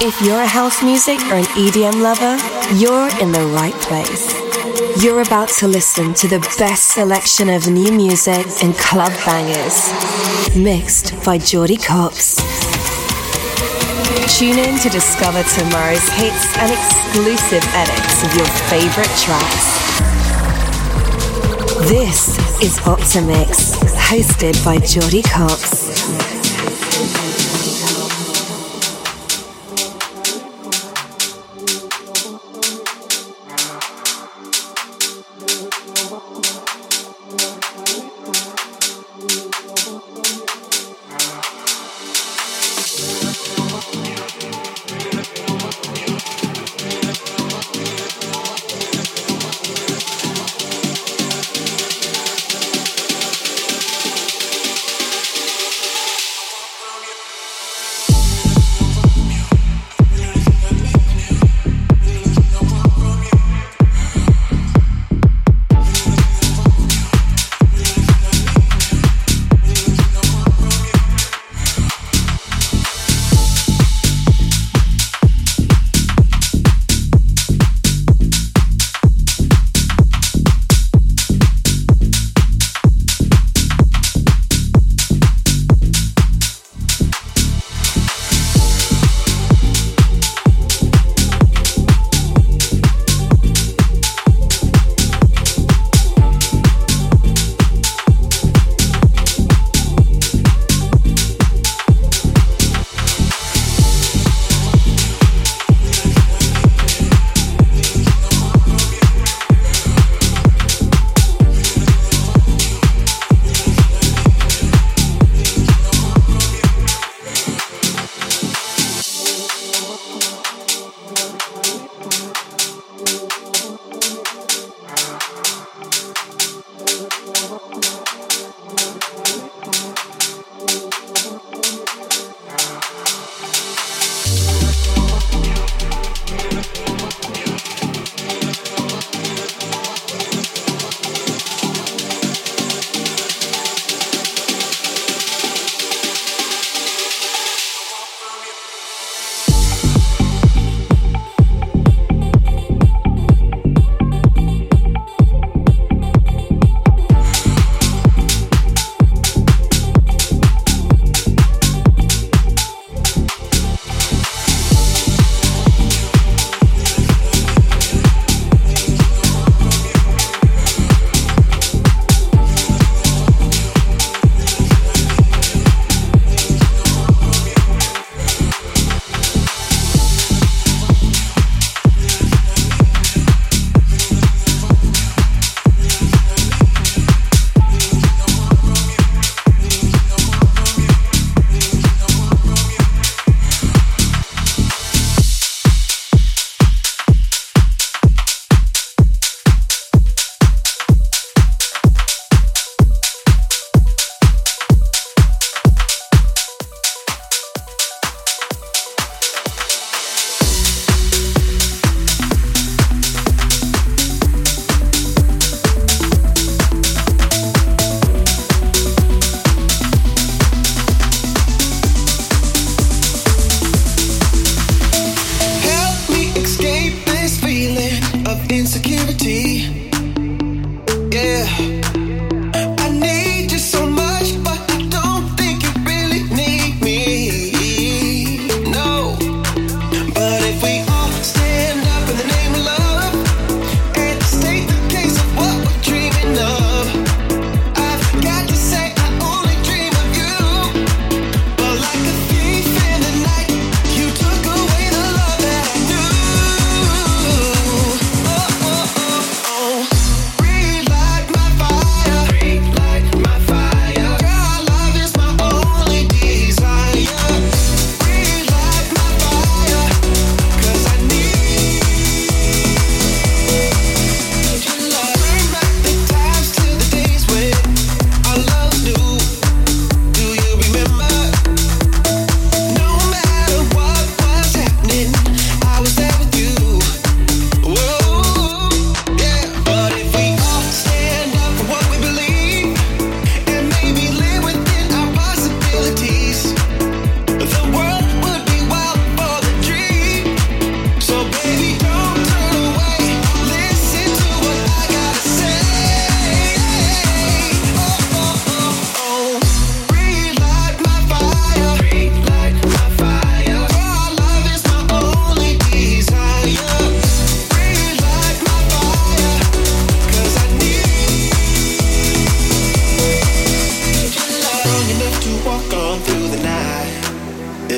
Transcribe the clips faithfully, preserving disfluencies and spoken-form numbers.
If you're a house music or an E D M lover, you're in the right place. You're about to listen to the best selection of new music and club bangers, mixed by Jordy Copz. Tune in to discover tomorrow's hits and exclusive edits of your favorite tracks. This is Optimix, hosted by Jordy Copz.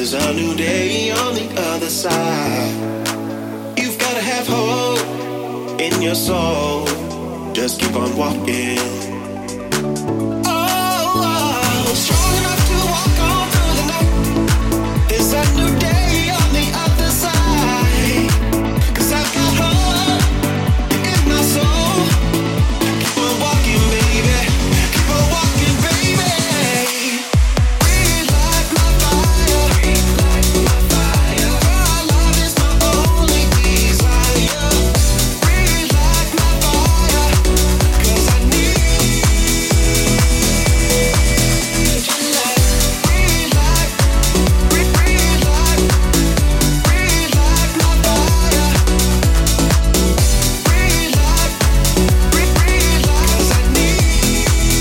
There's a new day on the other side. You've gotta have hope in your soul. Just keep on walking. Oh, oh, strong enough to walk on through the night. There's a new day on the other side. 'Cause I've got hope in my soul. Keep on walking, baby. Keep on walking, baby. Relight my fire. Relight my fire. Your love is my only desire. Relight my fire. 'Cause I need your light. Relight, re- relight, relight my fire. Relight, re- relight. 'Cause I need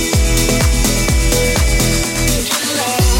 your love.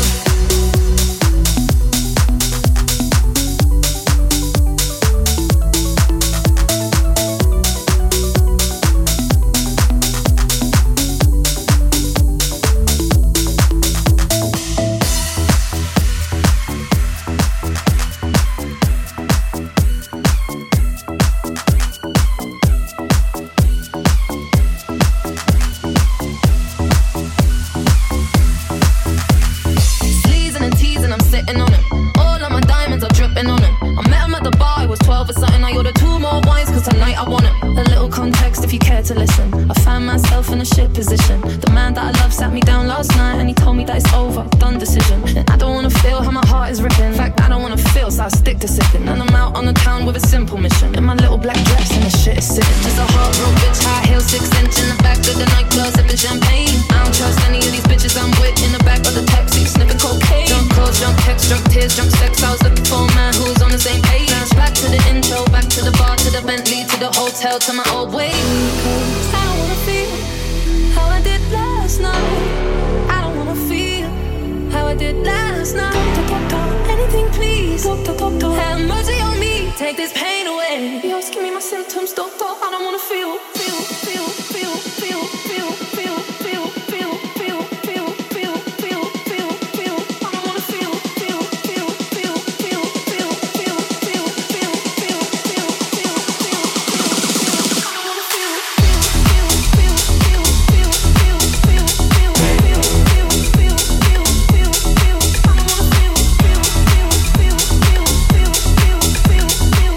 Sleazing and teasing, I'm sitting on him. All of my diamonds are dripping on him. I met him at the bar, he was twelve or something. I ordered two more wines, cause tonight I want him. A little context if you care to listen. I found myself in a shit position. The man that I love sat me down last night and he told me that it's over, done decision. And I don't wanna feel how my heart is ripping. In fact, I don't wanna feel, so I stick to sipping. And I'm out on the town with a simple mission. In my little black dress and the shit is sitting. Just a hard road bitch, high heel, six inch in the back of the nightclub, sipping champagne. I don't trust any of these bitches I'm with in the back of the taxi, sniffing cocaine. Drunk calls, drunk texts, drunk tears, drunk sex. I was looking for a man who was on the same page. Back to the intro, back to the bar, to the Bentley, to the hotel, to my old way. Cause I don't wanna feel how I did last night. I don't wanna feel how I did last night. Talk, talk, talk, anything please. Talk, talk, talk, talk. Have mercy on me, take this pain away. Yo, give me my symptoms, doctor. I don't wanna feel, feel, feel, feel, feel, feel, feel, feel, feel, feel, feel, feel, feel, feel, feel. I don't wanna feel, feel, feel, feel, feel, feel, feel, feel, feel, feel, feel, feel, feel. I don't wanna feel, feel, feel, feel, feel, feel, feel, feel, feel, feel, feel, feel, feel, feel, feel. I don't wanna feel, feel, feel, feel, feel, feel, feel, feel, feel,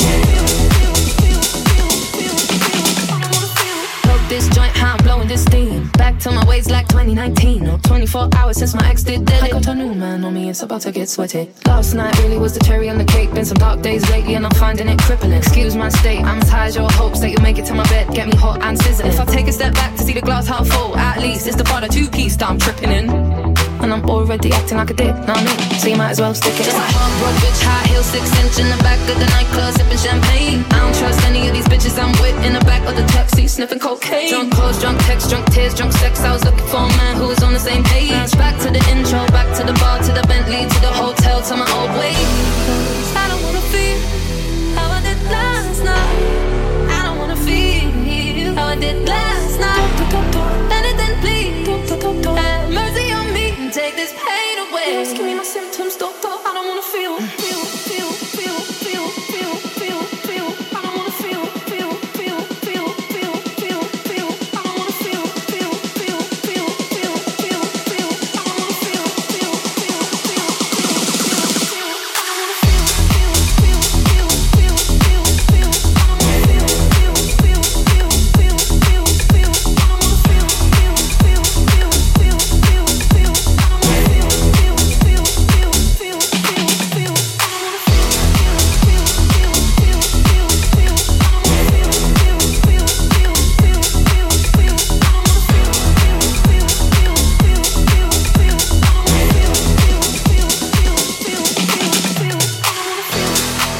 feel, feel, feel, feel. I don't wanna feel. Plug this joint, how I'm blowing this steam. Back to my ways like twenty nineteen. No, twenty-four hours since my ex did dead. I got a new man on me, it's about to get sweaty. Last night really was the cherry on the cake. Been some dark days lately and I'm finding it crippling. Excuse my state, I'm as high as your hopes that you'll make it to my bed. Get me hot and sizzling. If I take a step back to see the glass half full, at least it's the part of two-piece that I'm tripping in. And I'm already acting like a dick, know what I mean? So you might as well stick it. Just a hard road bitch, high heel, six inch in the back of the nightclub, sipping champagne. I don't trust any of these bitches I'm with in the back of the taxi, sniffing cocaine. Drunk calls, drunk texts, drunk tears, drunk sex. I was looking for a man who was on the same page. Back to the intro, back to the bar, to the Bentley, to the hotel, to my old way. Cause I don't wanna feel how I did last night. I don't wanna feel how I did last night. Anything please, have mercy on me and take this pain away. Just give me my symptoms, doctor. I don't wanna feel, feel, feel, feel, feel, feel, feel, feel. I don't wanna feel, feel, feel, feel, feel, feel, feel. I don't wanna feel, feel, feel, feel, feel, feel, feel. I don't wanna feel, feel, feel, feel, feel, feel, feel. I don't wanna feel, feel, feel, feel, feel, feel, feel. I don't wanna feel, feel, feel, feel, feel, feel, feel. I don't wanna feel, feel, feel, feel, feel, feel, feel. I don't wanna feel, feel, feel, feel, feel, feel, feel. I don't wanna feel, feel, feel, feel, feel, feel, feel. I don't wanna feel, feel, feel, feel, feel, feel, feel. I don't wanna feel, feel, feel, feel, feel, feel, feel. I don't wanna feel, feel, feel, feel, feel, feel, feel. I don't wanna feel.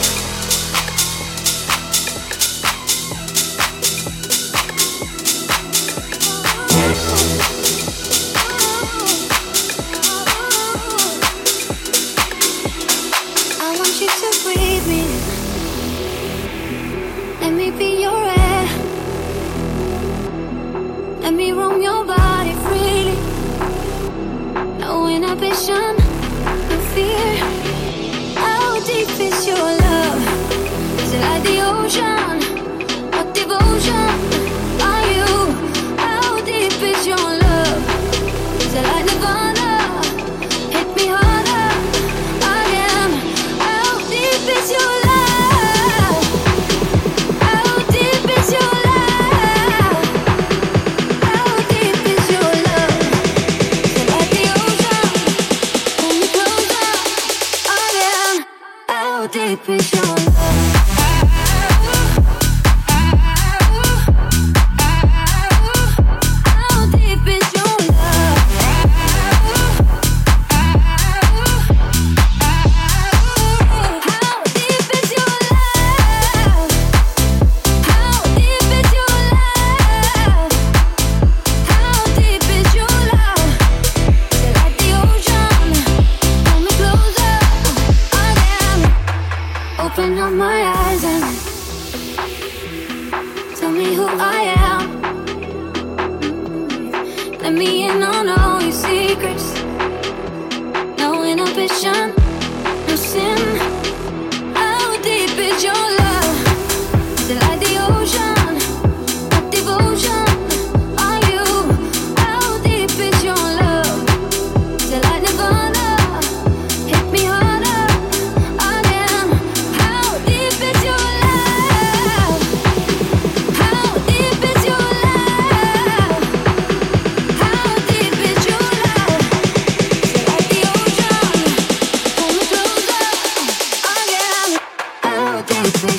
I want you to breathe me. Let me be your air. Let me roam your body freely. No inhibition, no fear. How deep is your love? How deep is your love? How deep is your love? How deep is your love? How deep is your love? You're like the ocean. Pull me closer again. Open up my eyes and tell me who I am. Let me in on all your secrets. No inhibition, no sin. How deep is your love? Is it like the ocean? What devotion are you? How deep is your love? Is it like Nirvana? Hit me harder again. How deep is your love? How deep is your love? How deep is your love? Is it like the ocean? Pull me closer again. How deep is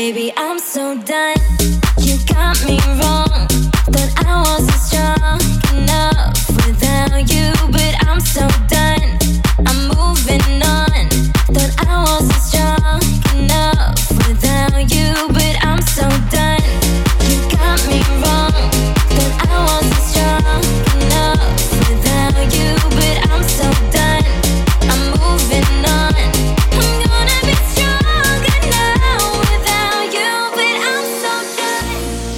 baby, I'm so done. You got me wrong. Thought I wasn't strong enough without you, but I'm so done. I'm moving on. Thought I wasn't strong enough without you, but I'm so done. You got me wrong. Thought I wasn't strong enough without you, but I'm so done. I'm moving on. I'm gonna be stronger now without you, but I'm so done.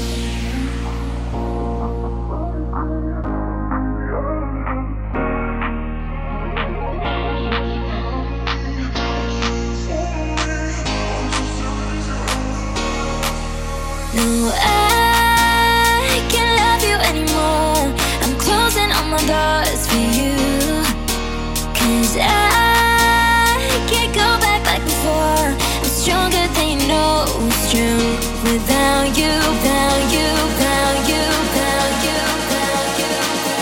No, I can't love you anymore. I'm closing all my doors for you. Cause I can't go back like before. I'm stronger than you know it's true. Without you, without you, without you, without you, without you.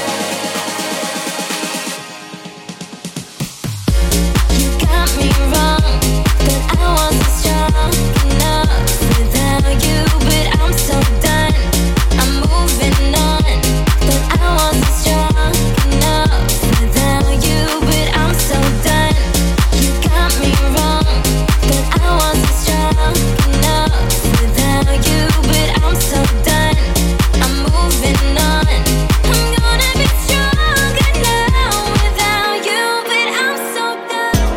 You got me wrong. That I wasn't strong enough without you, but I'm so done. I'm moving on. That I wasn't strong enough without you, but I'm so done. You got me wrong. That I wasn't strong enough without you, but I'm so done. I'm moving on. I'm gonna be stronger now without you, but I'm so done.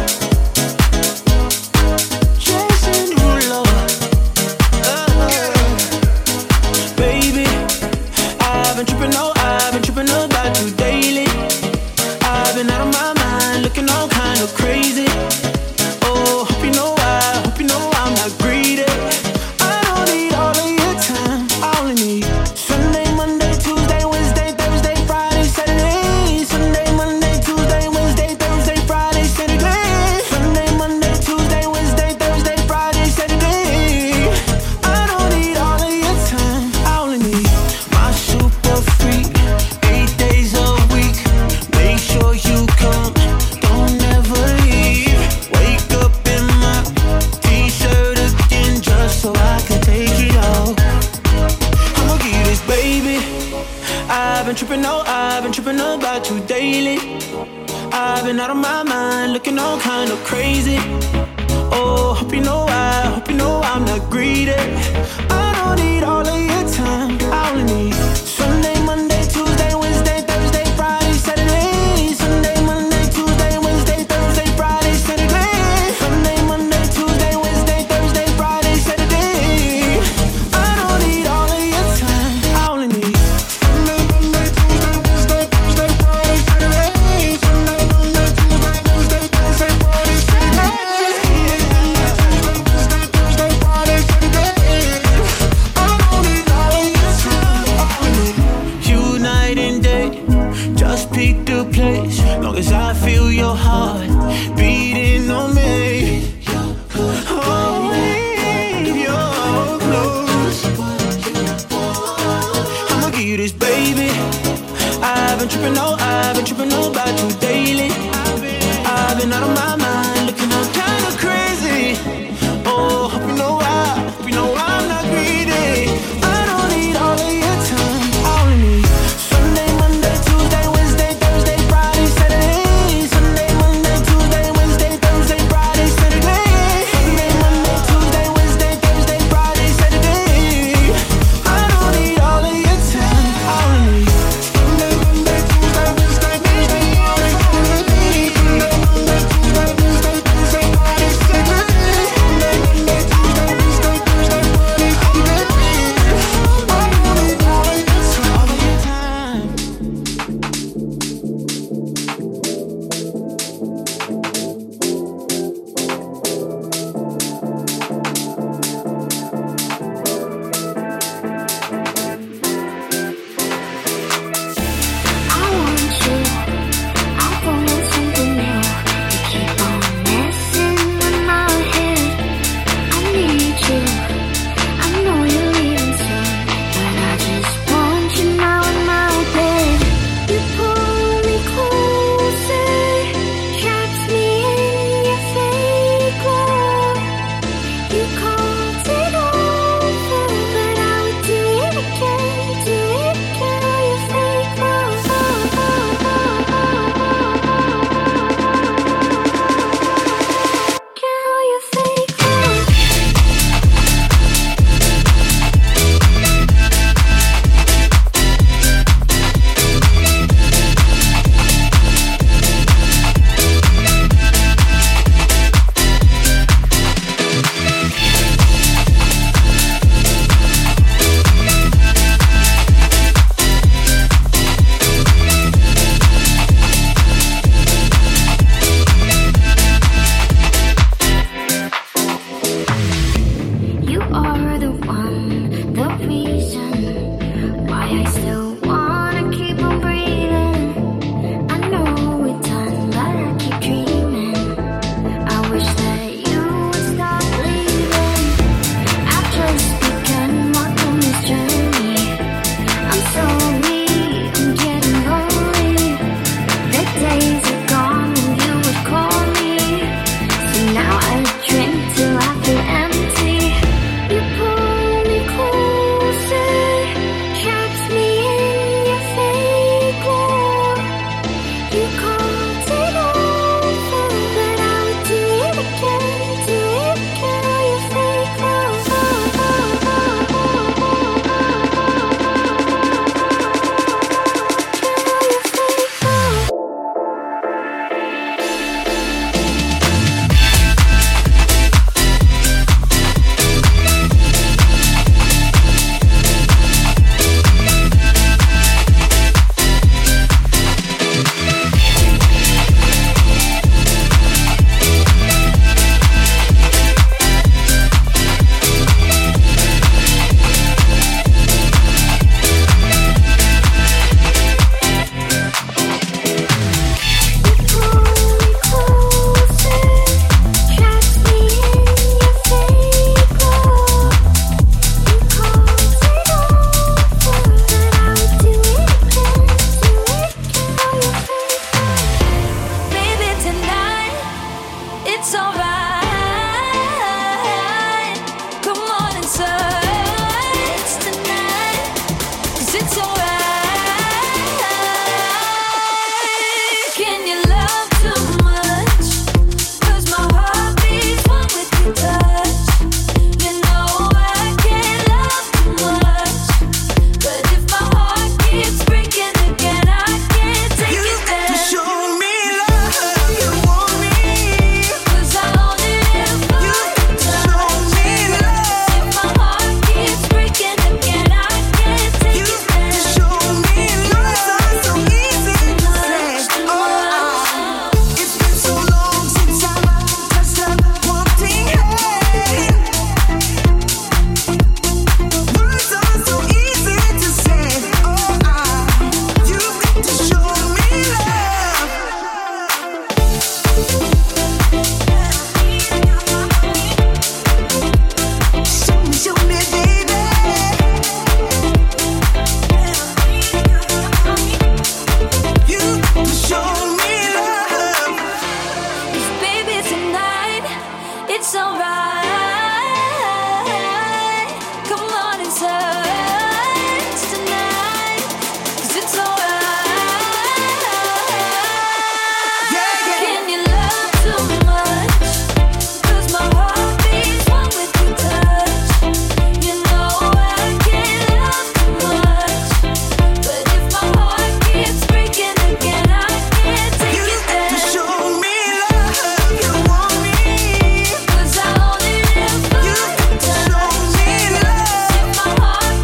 Jason Derulo. Baby, I've been tripping, oh, I've been tripping about you daily. I've been out of my mind, looking all kind of crazy. Oh, hope you know I, hope you know I'm not greedy. I don't need all of your time, I only need Sunday, Monday, Tuesday, Wednesday, Thursday, Friday, Saturday. Sunday, Monday, Tuesday, Wednesday, Thursday, Friday, Saturday. Sunday, Monday, Tuesday, Wednesday, Thursday, Friday, Saturday. I don't need all of your time, I only need my super freak, eight days a week. Make sure you come, don't ever leave. Wake up in my t-shirt again just so I can take it off. I'ma give you this, baby. I've been tripping, oh, I've been tripping about you daily. I've been out of my mind, looking all kind of crazy. Oh, hope you know I, hope you know I'm not greedy. I don't need all of your time, I only need Sunday, Monday, Tuesday, Wednesday, Thursday, Friday, Saturday. Sunday, Monday, Tuesday, Wednesday, Thursday, Friday, Saturday. Sunday, Monday, Tuesday, Wednesday, Thursday, Friday, Saturday. I don't need all of your time, I only need Sunday, Monday, Tuesday, Wednesday, Thursday, Friday, Saturday. Sunday, Monday, Tuesday, Wednesday, Thursday, Friday, Saturday. Tuesday, Thursday, Friday, Saturday. I don't need all of your time, I only need you night and day. Just pick the place, long as I feel your heart beating on me. Oh, leave your clothes. I'ma give you this, baby. I've been tripping, oh, I've been tripping about you daily. I've been out of my mind, looking all kind of crazy. Oh, hope you know I, hope you know I'm not greedy. I don't need all of your time, I only need Sunday, Monday, Tuesday, Wednesday, Thursday, Friday, Saturday. Sunday, Monday, Tuesday, Wednesday, Thursday, Friday, Saturday. Sunday, Monday, Tuesday, Wednesday, Thursday, Friday, Saturday. I don't need all of your time, I only need Sunday, Monday, Tuesday, Wednesday, Heart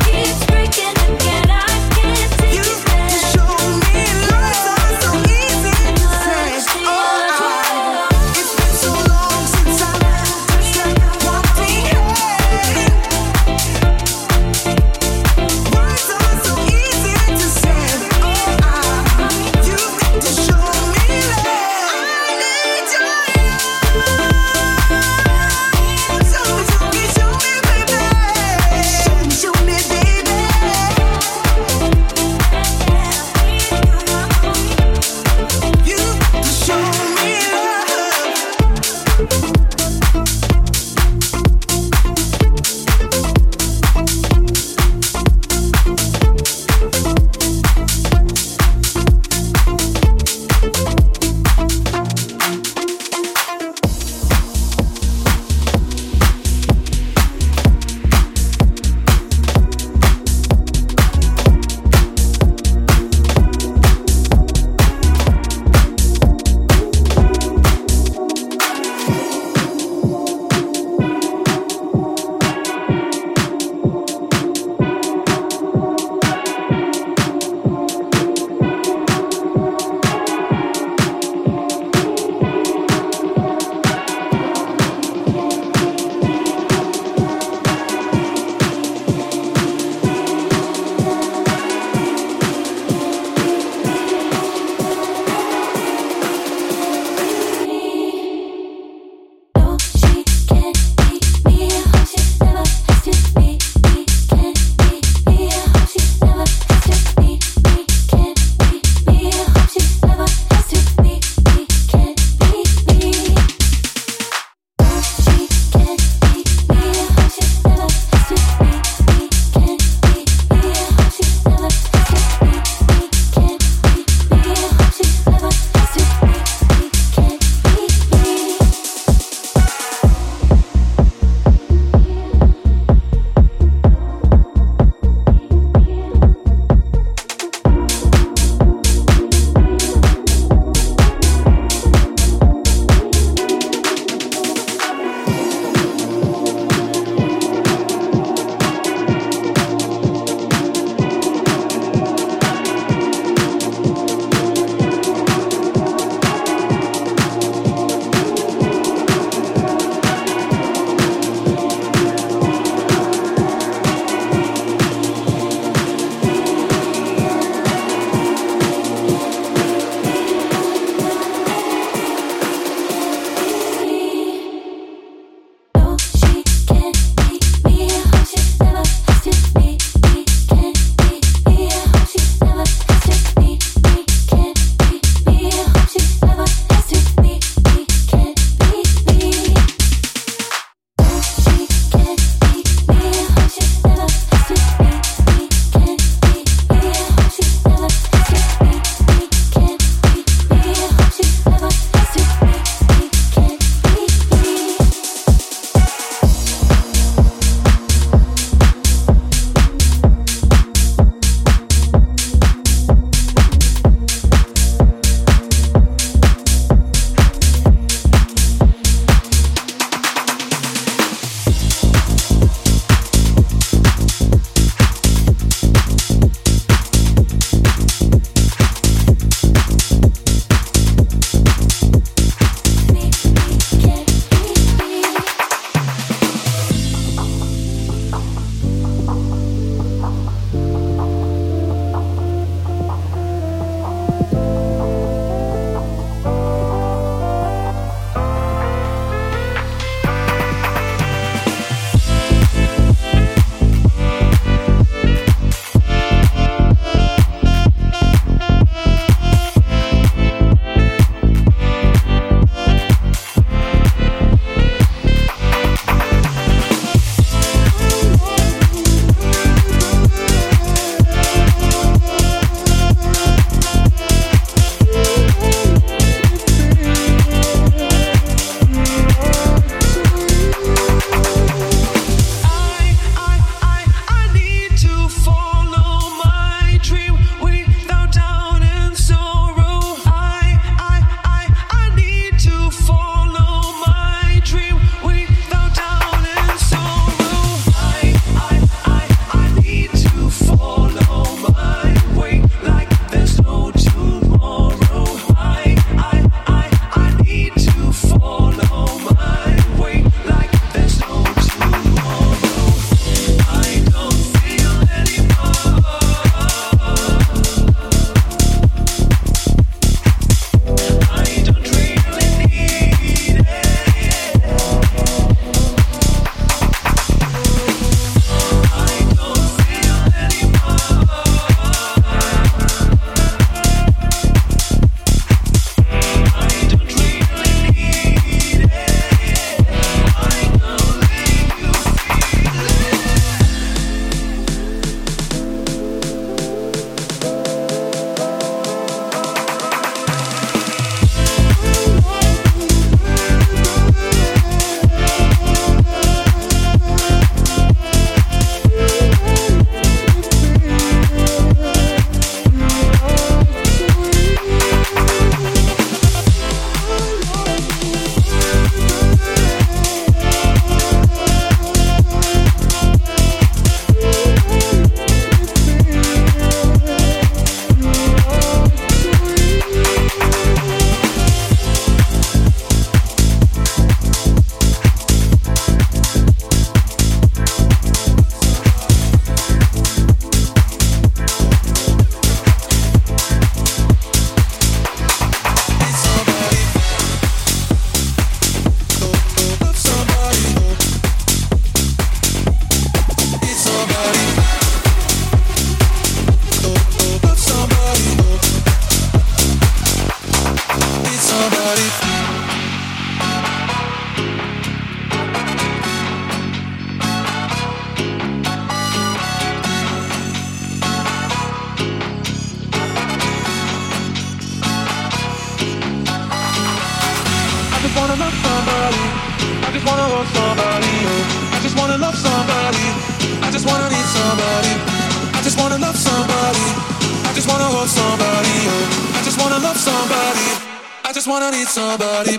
somebody. I just wanna hold somebody. I just wanna love somebody. I just wanna need somebody. I just wanna love somebody. I just wanna hold somebody. I just wanna love somebody. I just wanna need somebody.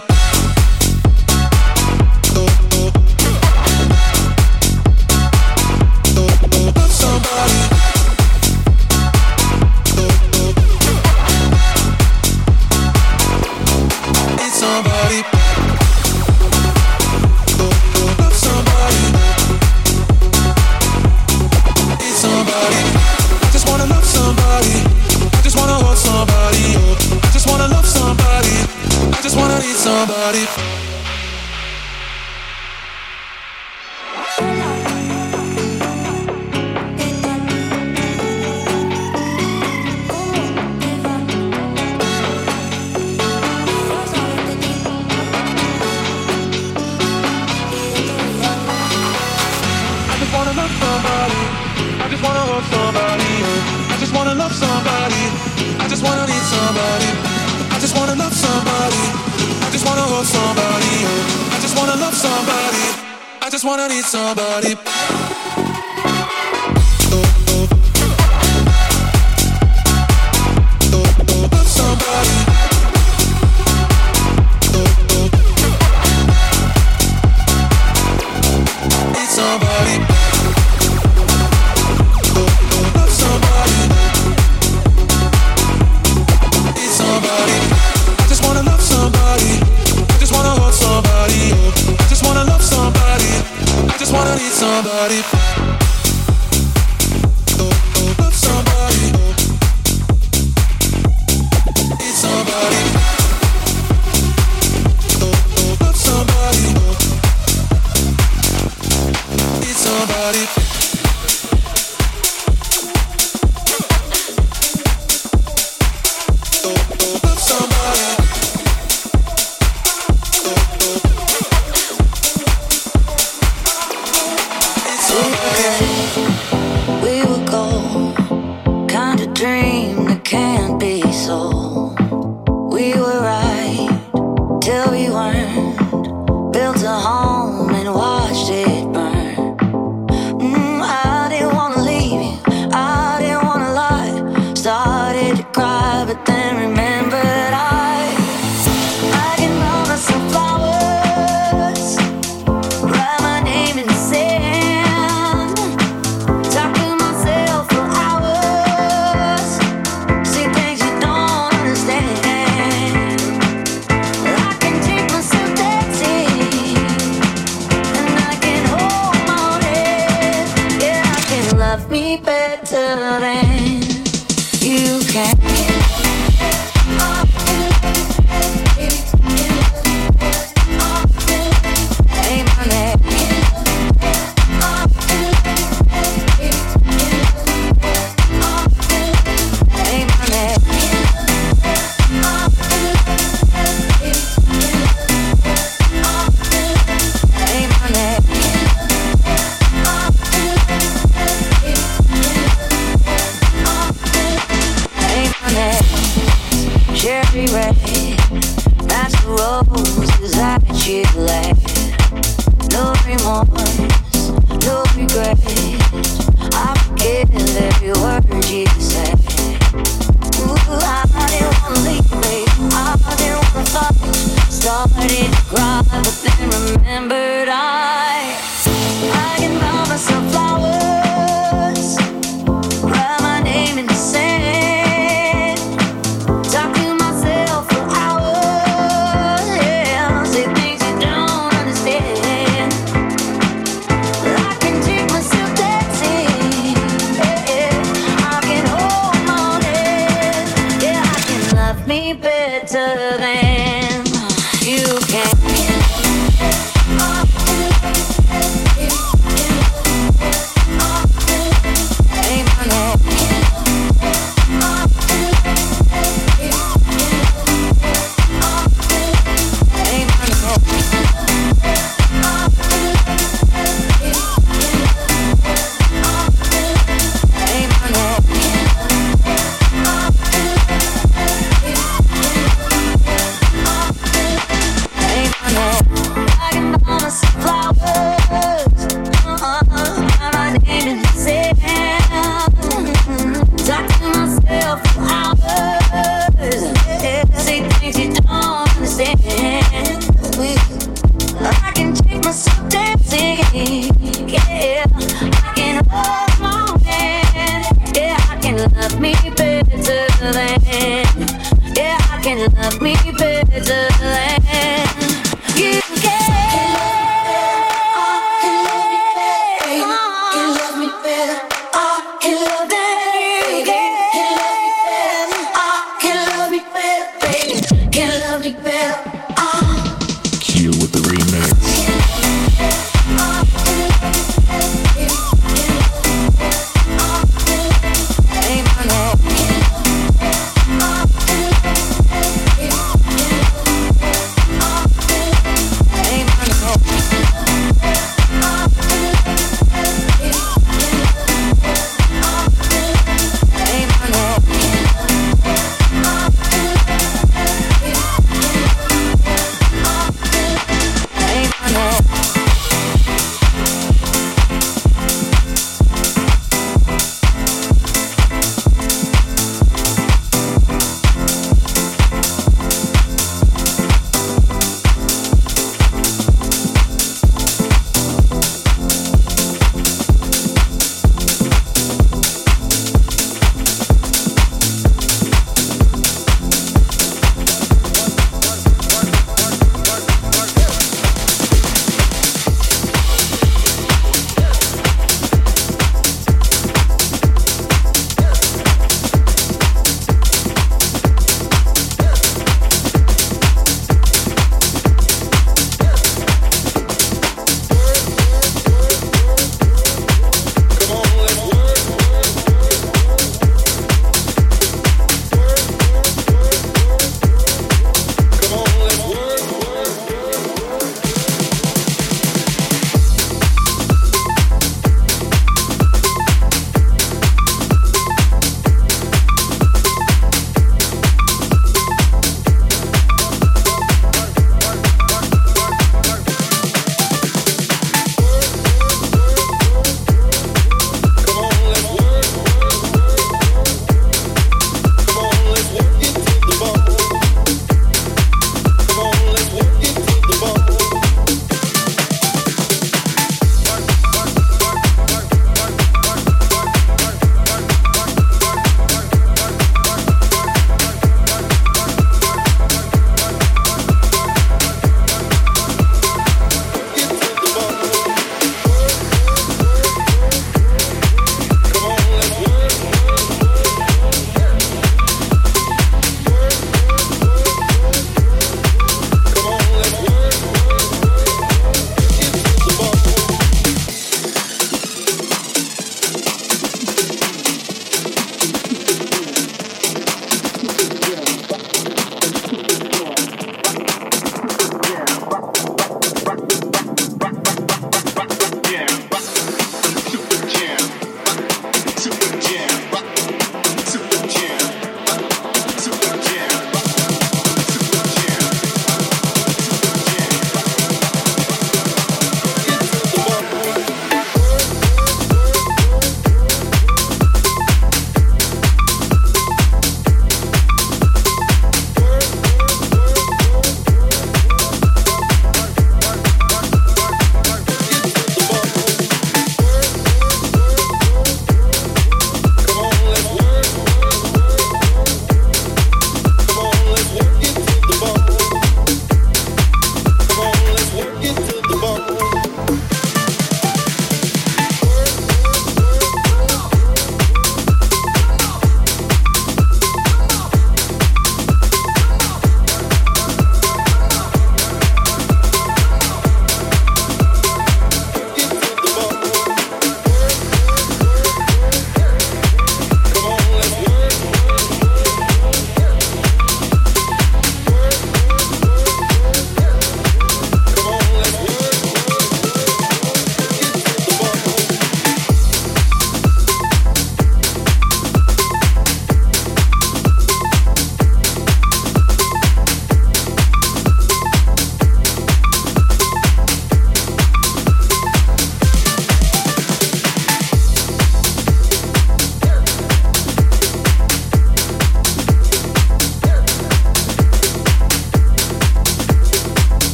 Love somebody. Need somebody. Love somebody. Need somebody. I just wanna love somebody. I just wanna hold somebody. I just wanna love somebody. I just wanna need somebody. I just wanna need somebody. Love somebody. Need somebody. Love somebody. Need somebody. I just wanna love somebody. I just wanna hold somebody. I just wanna love somebody. I just wanna need somebody. Love somebody. Need somebody. Love somebody. Need somebody. Love somebody. We were gold, kind of dream that can't be sold. We were right till we weren't. Built a home and watched it burn. Mm, I didn't wanna leave you, I didn't wanna lie. Started to cry, but then remembered I I can buy myself flowers, write my name in the sand. Talk to myself for hours, see things you don't understand. I can take myself dancing, and I can hold my own head. Yeah, I can love me better than you can. Hey, my name. Hey, my name. Hey, my name. Hey, my name. can love me better than you can. Can love me better. I can love that you can. I can love me better, baby. Can love me better. Q with the remix. Hey, my name.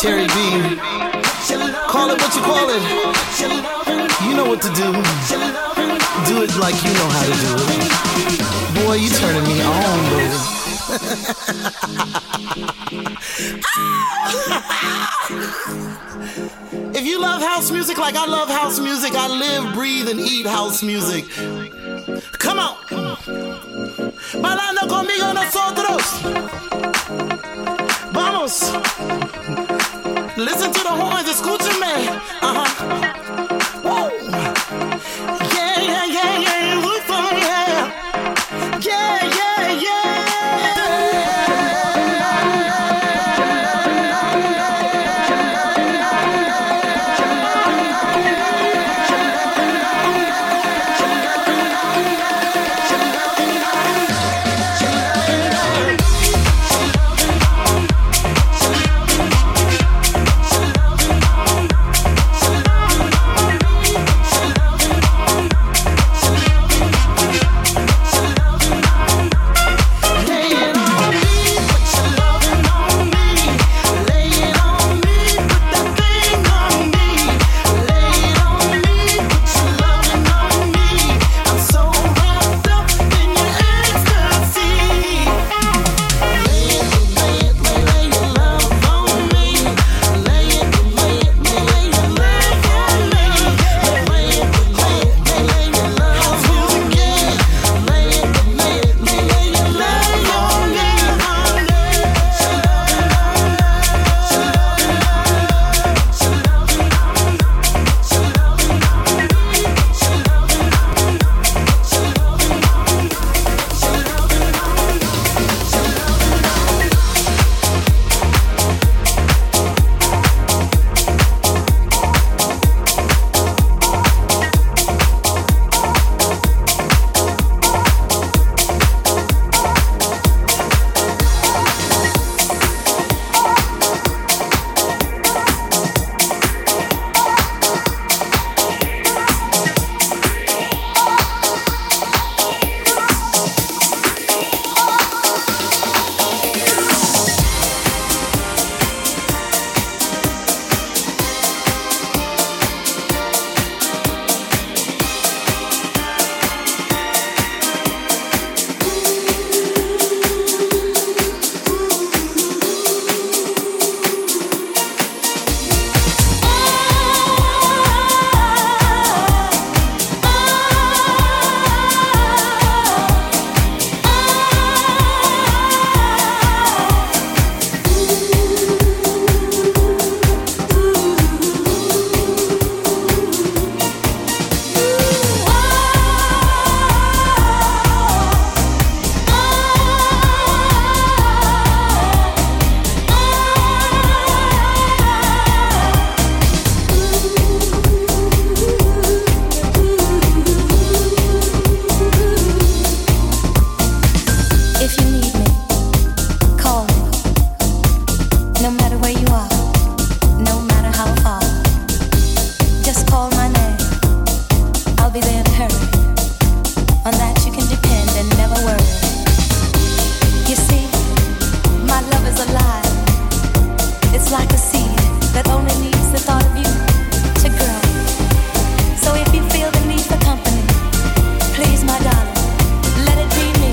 Terry B. Call it what you call it. You know what to do. Do it like you know how to do it. Boy, you turning me on, baby. If you love house music like I love house music, I live, breathe, and eat house music. Come on. Bailando conmigo nosotros. Vamos. Listen to the horns, escúchame. Uh-huh. Woo. Yeah, yeah, yeah, yeah. Look for me, yeah. Yeah, yeah, yeah.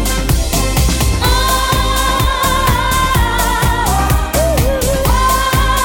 Oh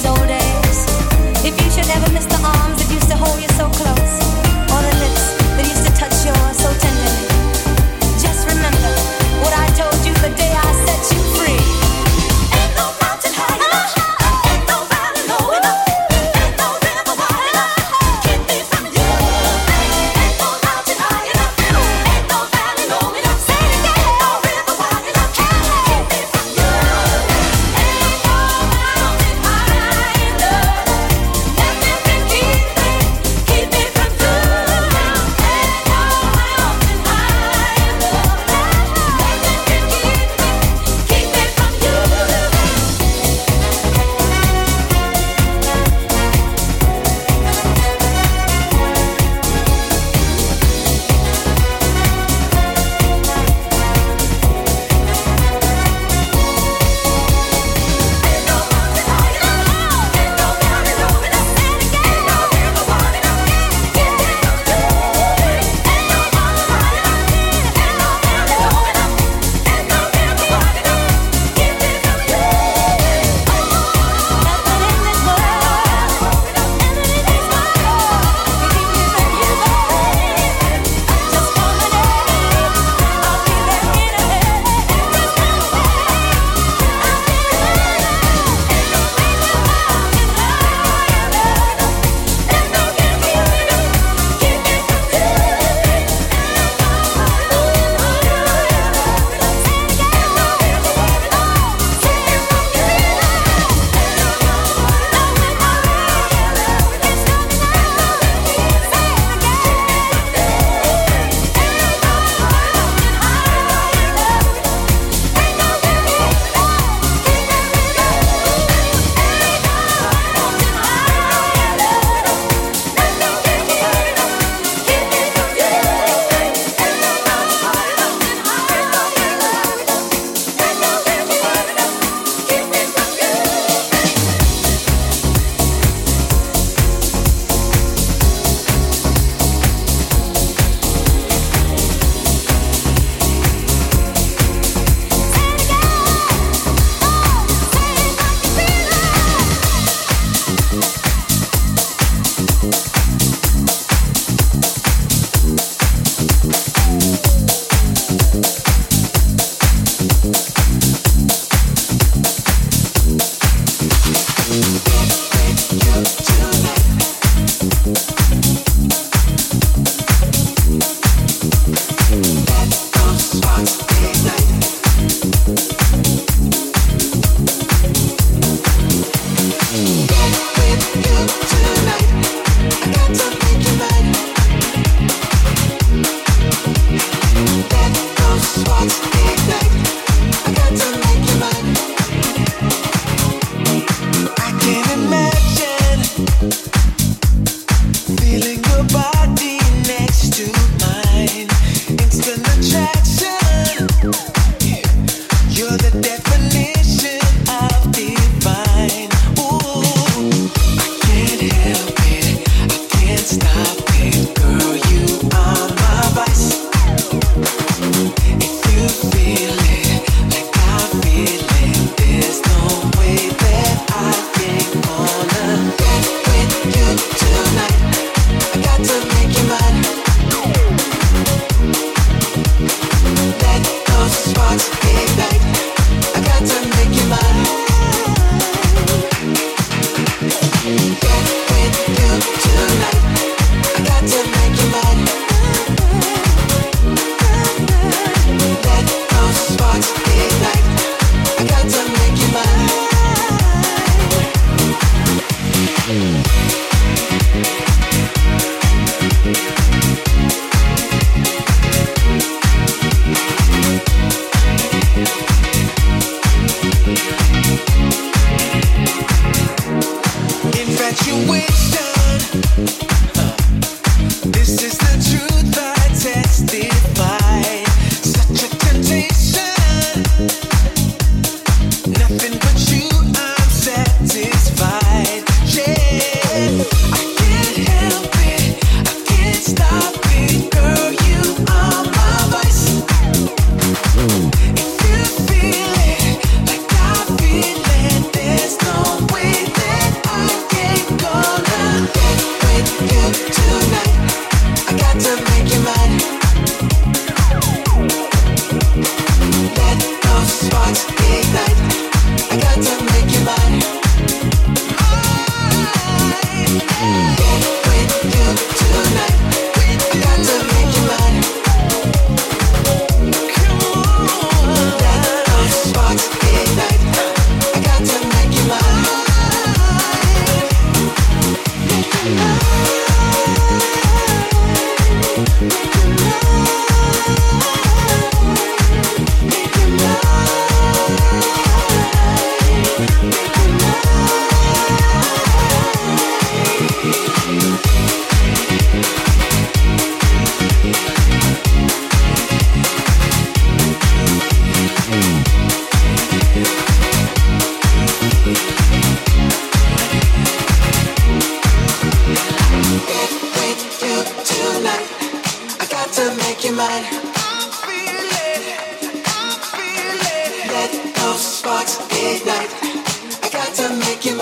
these old days. If you should ever miss the arms that used to hold you so close, or the lips that used to touch yours so tenderly, just remember what I told you the day I set you free. Ain't no mountain high enough, ain't no valley low enough, ain't no river wide enough, keep me from you. Ain't no mountain high enough, ain't no valley low enough, say it again, ain't no river wide enough, keep me from you. Ain't no mountain high enough, nothing can keep me, keep me from you. Ain't no mountain high enough, nothing can keep me, keep me from you. If you feel it like I feel it, there's no way that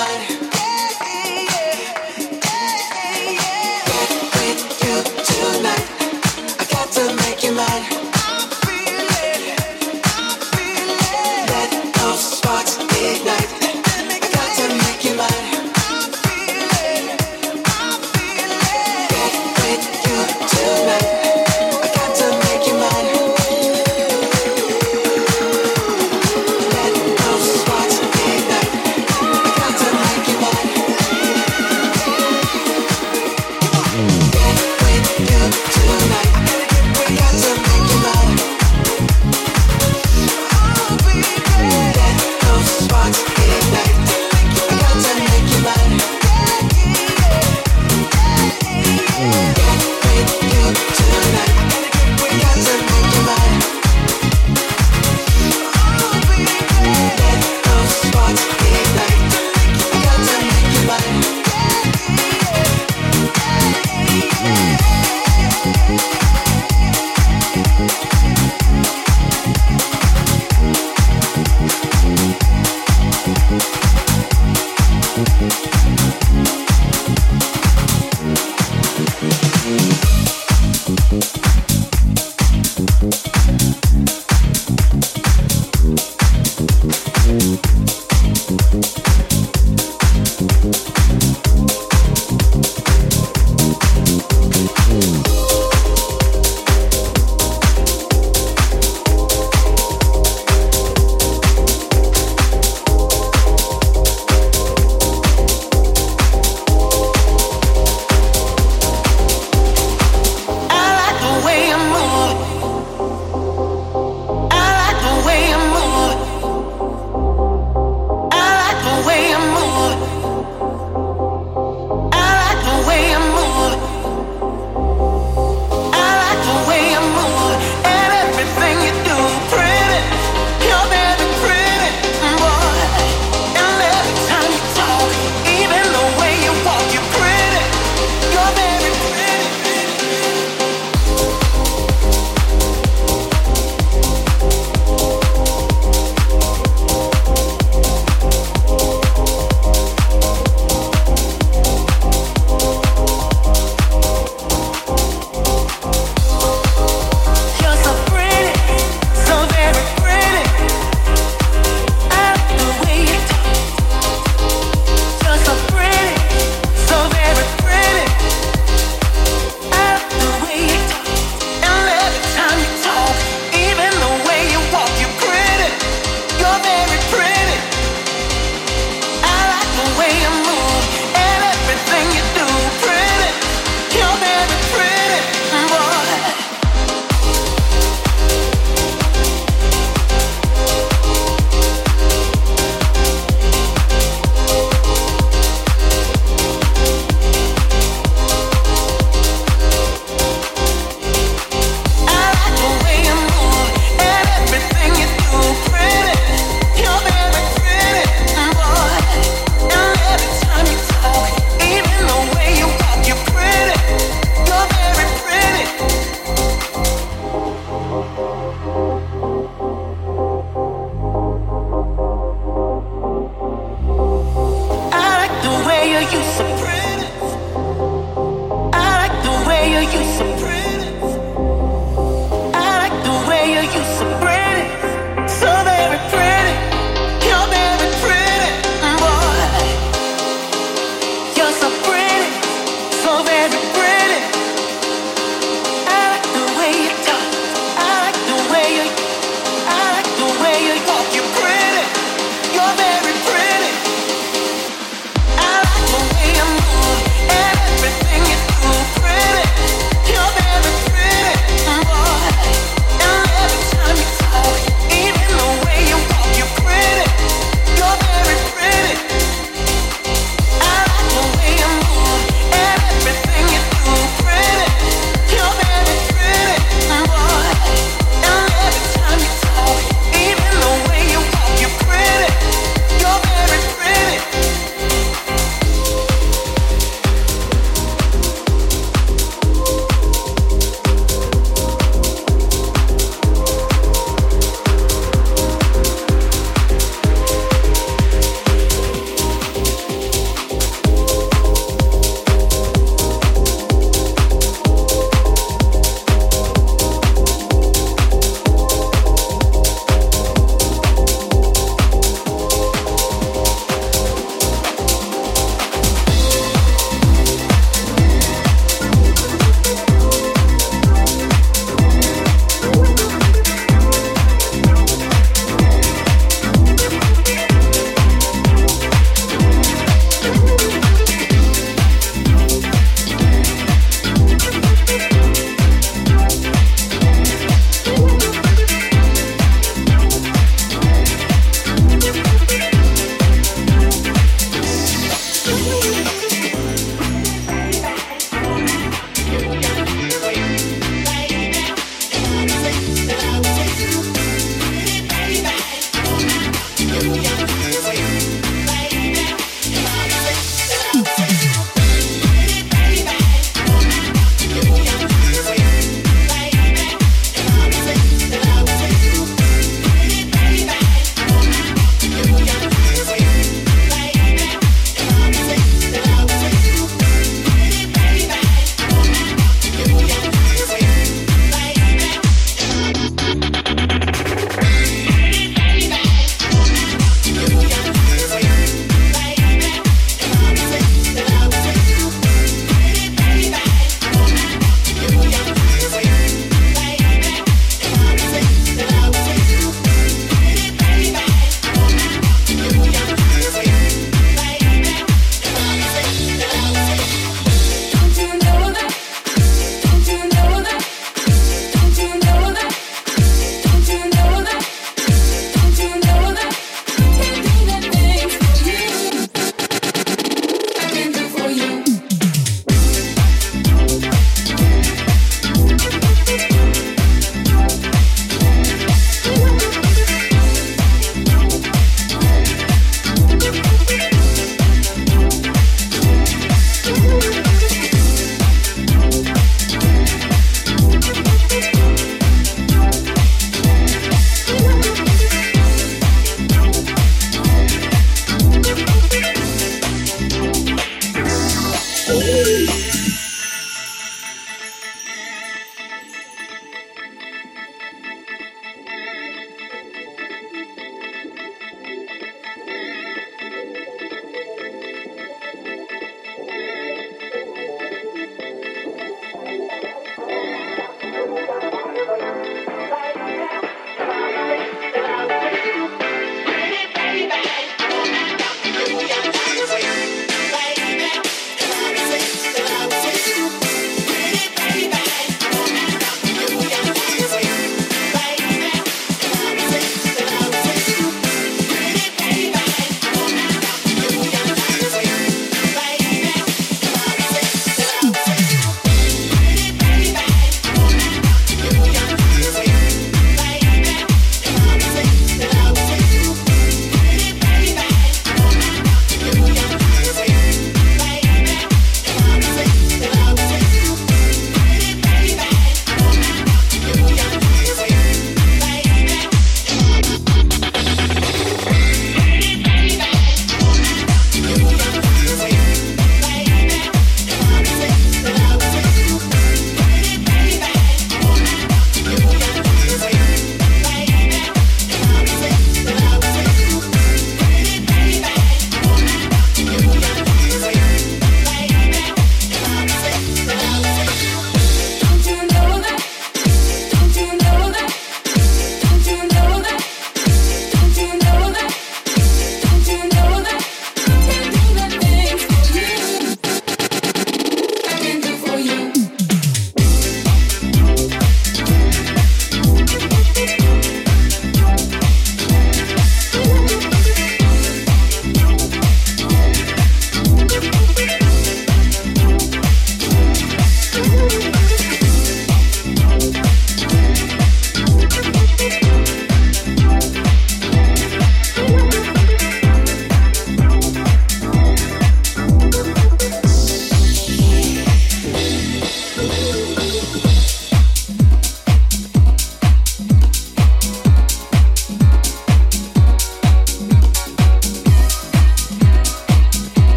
You're very pretty. I like the way you move.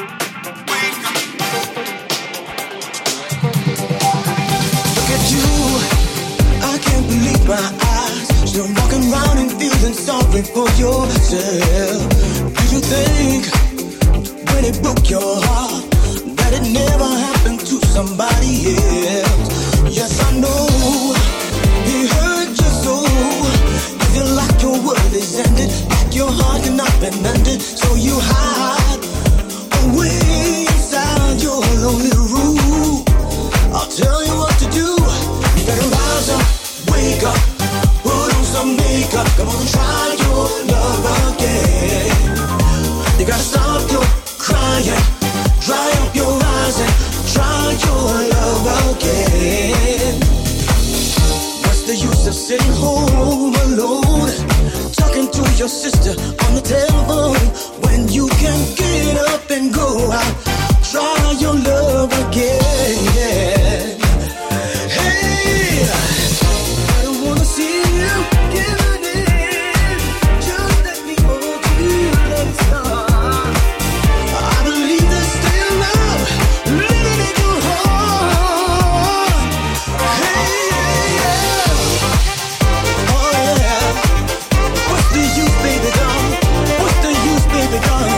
Look at you, I can't believe my eyes. Still walking around and feeling sorry for yourself. Did you think when it broke your heart that it never happened to somebody else? Yes, I know it hurt you so. You feel like your world is ended, like your heart cannot be mended, so you hide away inside your lonely room. I'll tell you what to do. You better rise up, wake up, put on some makeup. Come on, try your love again. You gotta stop your crying, dry up your eyes and try your love again. What's the use of sitting home alone, talking to your sister on the telephone, when you can get up and go out, try your love again. Hey, I don't wanna see you giving in. Just let me hold you like a star. I believe there's still love living in your heart. Hey, yeah, yeah. Oh yeah. What's the use, baby doll? What's the use, baby doll?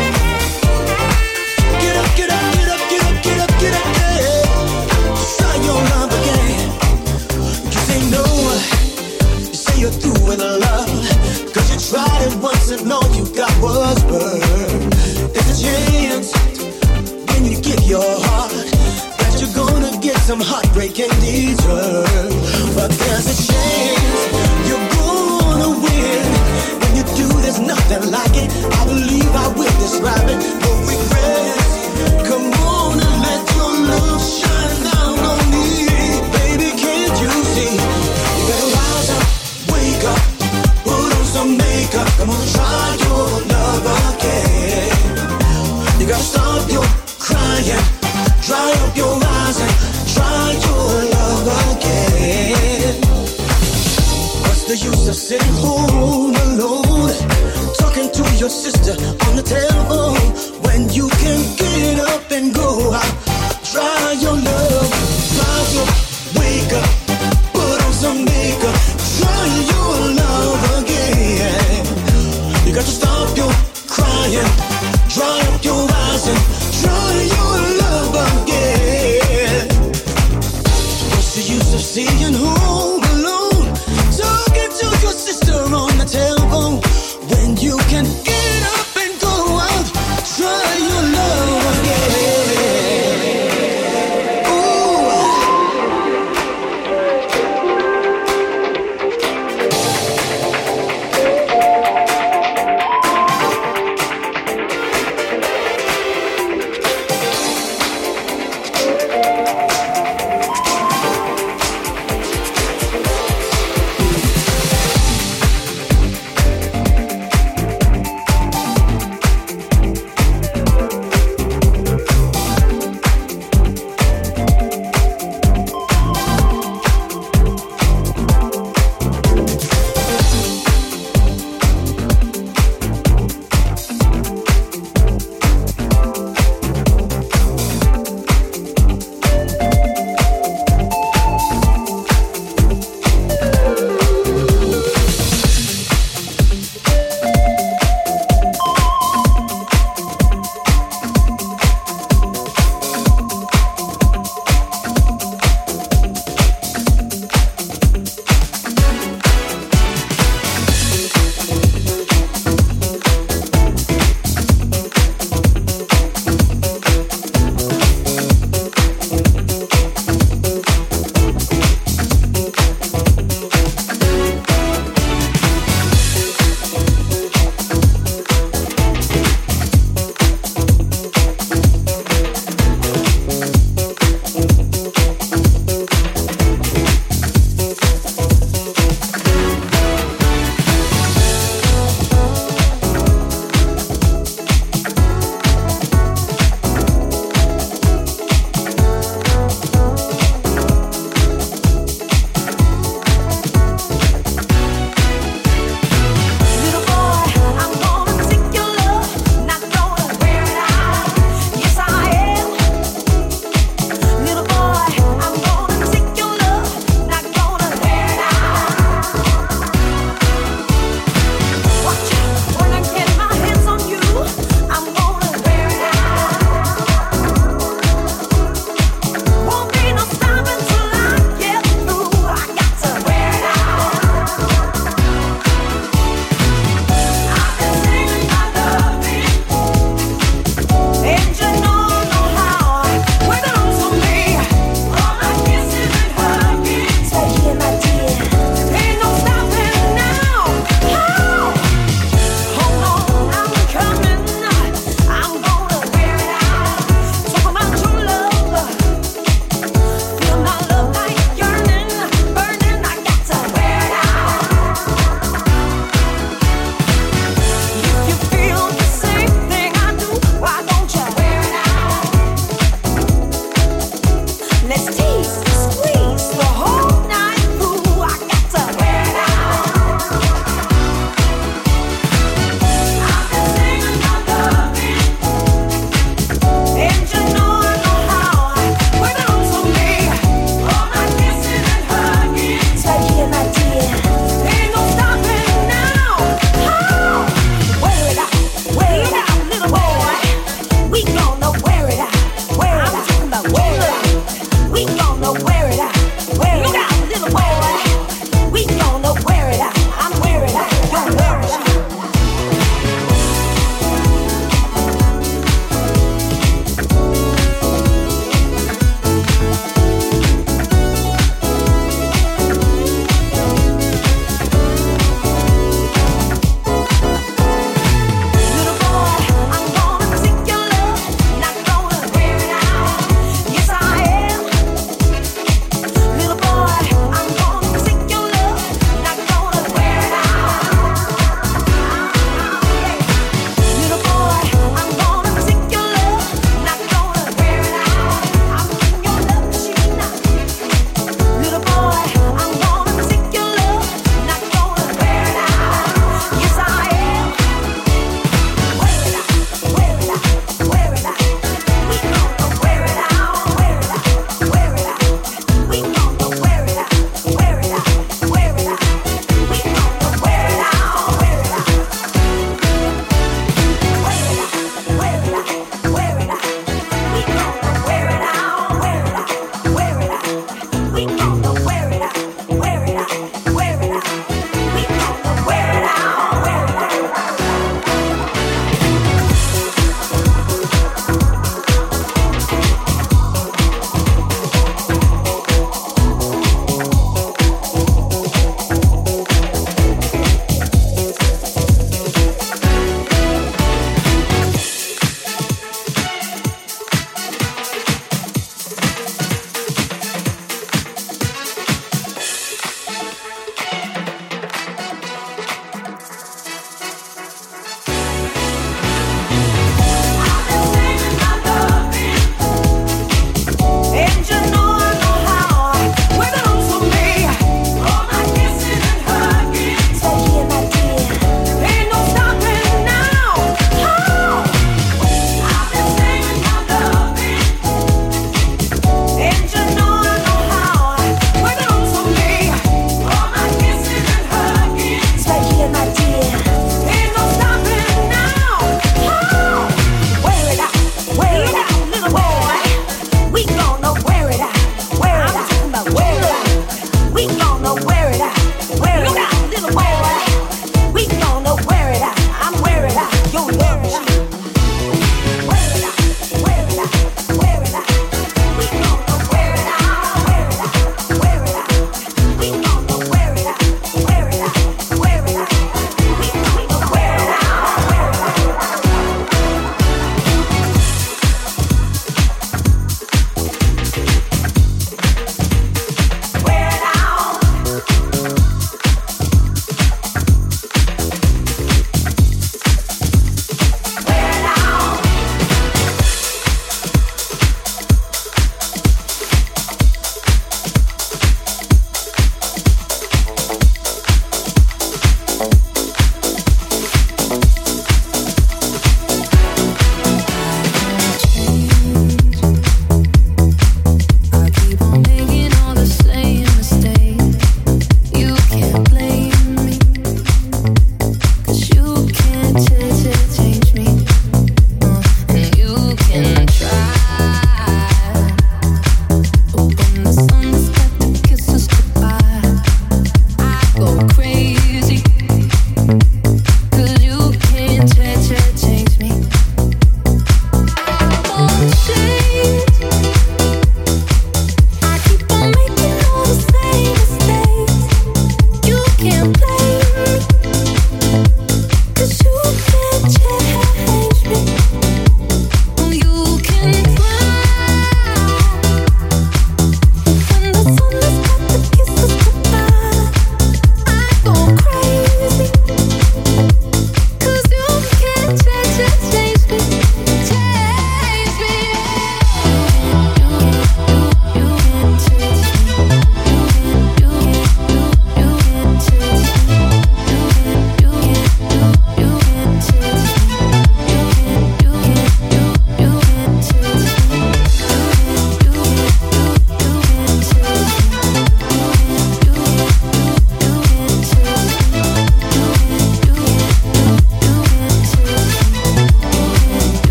Get up, get up, get up, get up, get up, get up, yeah. Try your love again. You say no, you say you're through with love, 'cause you tried it once and all you got was burn. There's a chance when you give your heart that you're gonna get some heartbreak in return. But there's a chance you're gonna win. When you do, there's nothing like it. I believe I will describe it. No regrets. Come on and let your love shine down on me. Baby, can't you see? You better rise up, wake up, put on some makeup. Come on, try your love again. You gotta stop your crying, dry up your eyes and try your love again. What's the use of sitting home alone, talking to your sister on the telephone, when you can get up and go out, try your love, rise up, wake up, put on some makeup, try your love again. You got to stop your crying, dry up your eyes and try your love again. What's the use of staying home alone, talking to your sister on the telephone, when you can get up and go out, try your love again.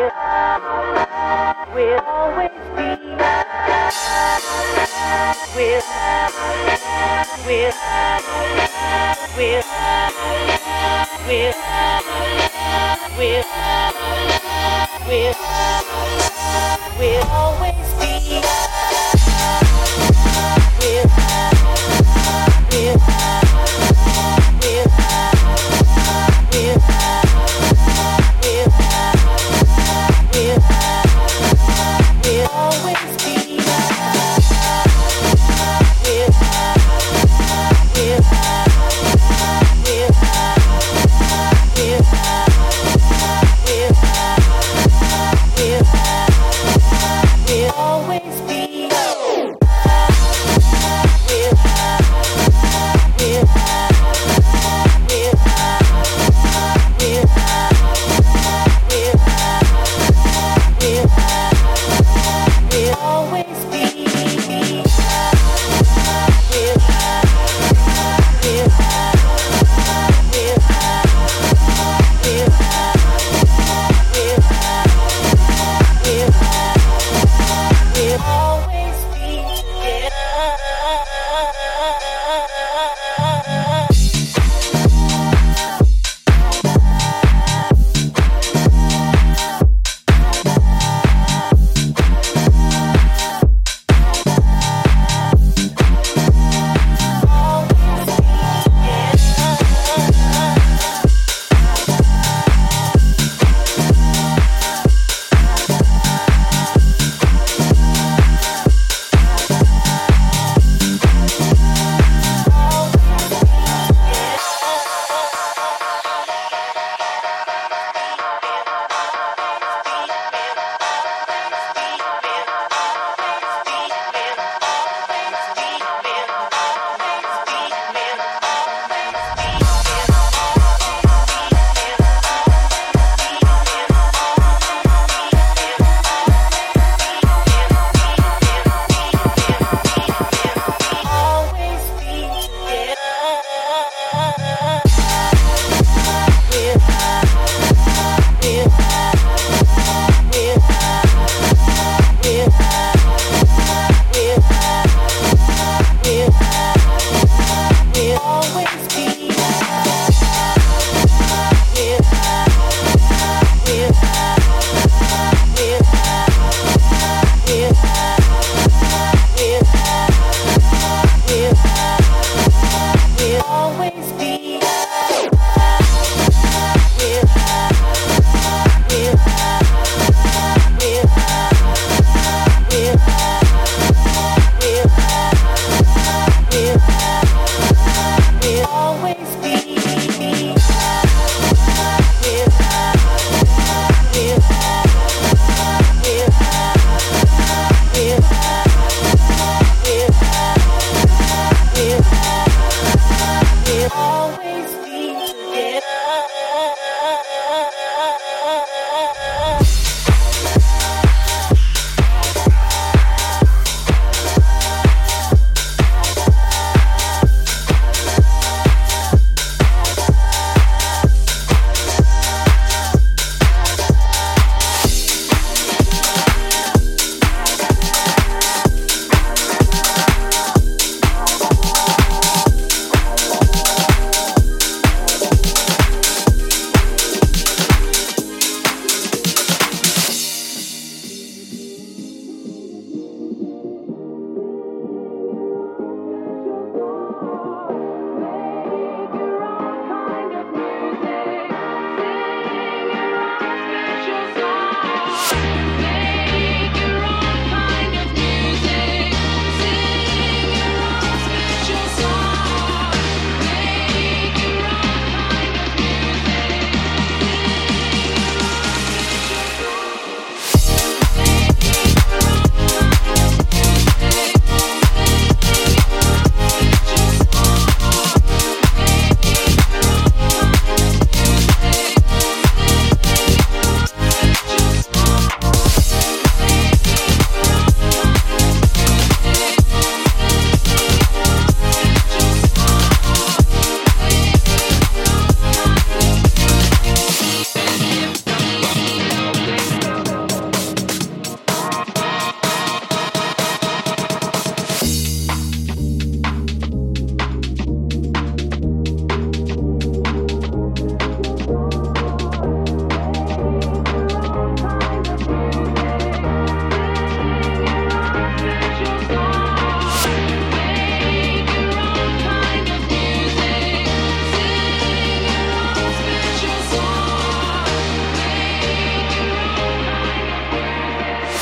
We'll always be. We'll, we'll, we'll, we'll, we'll, we'll, we'll always be. We'll, we'll, we'll, we'll, we'll, we'll, we'll always be. We'll, we'll, we'll, we'll, we'll,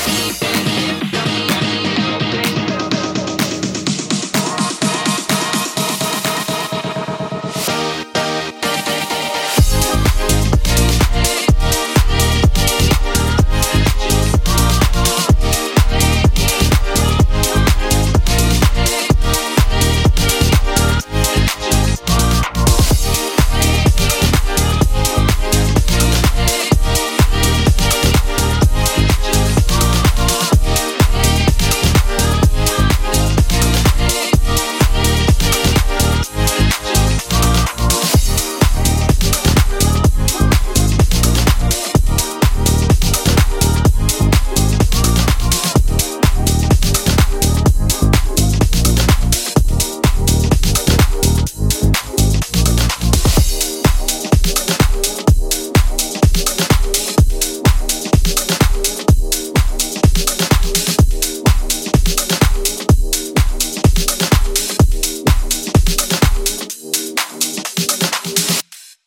keep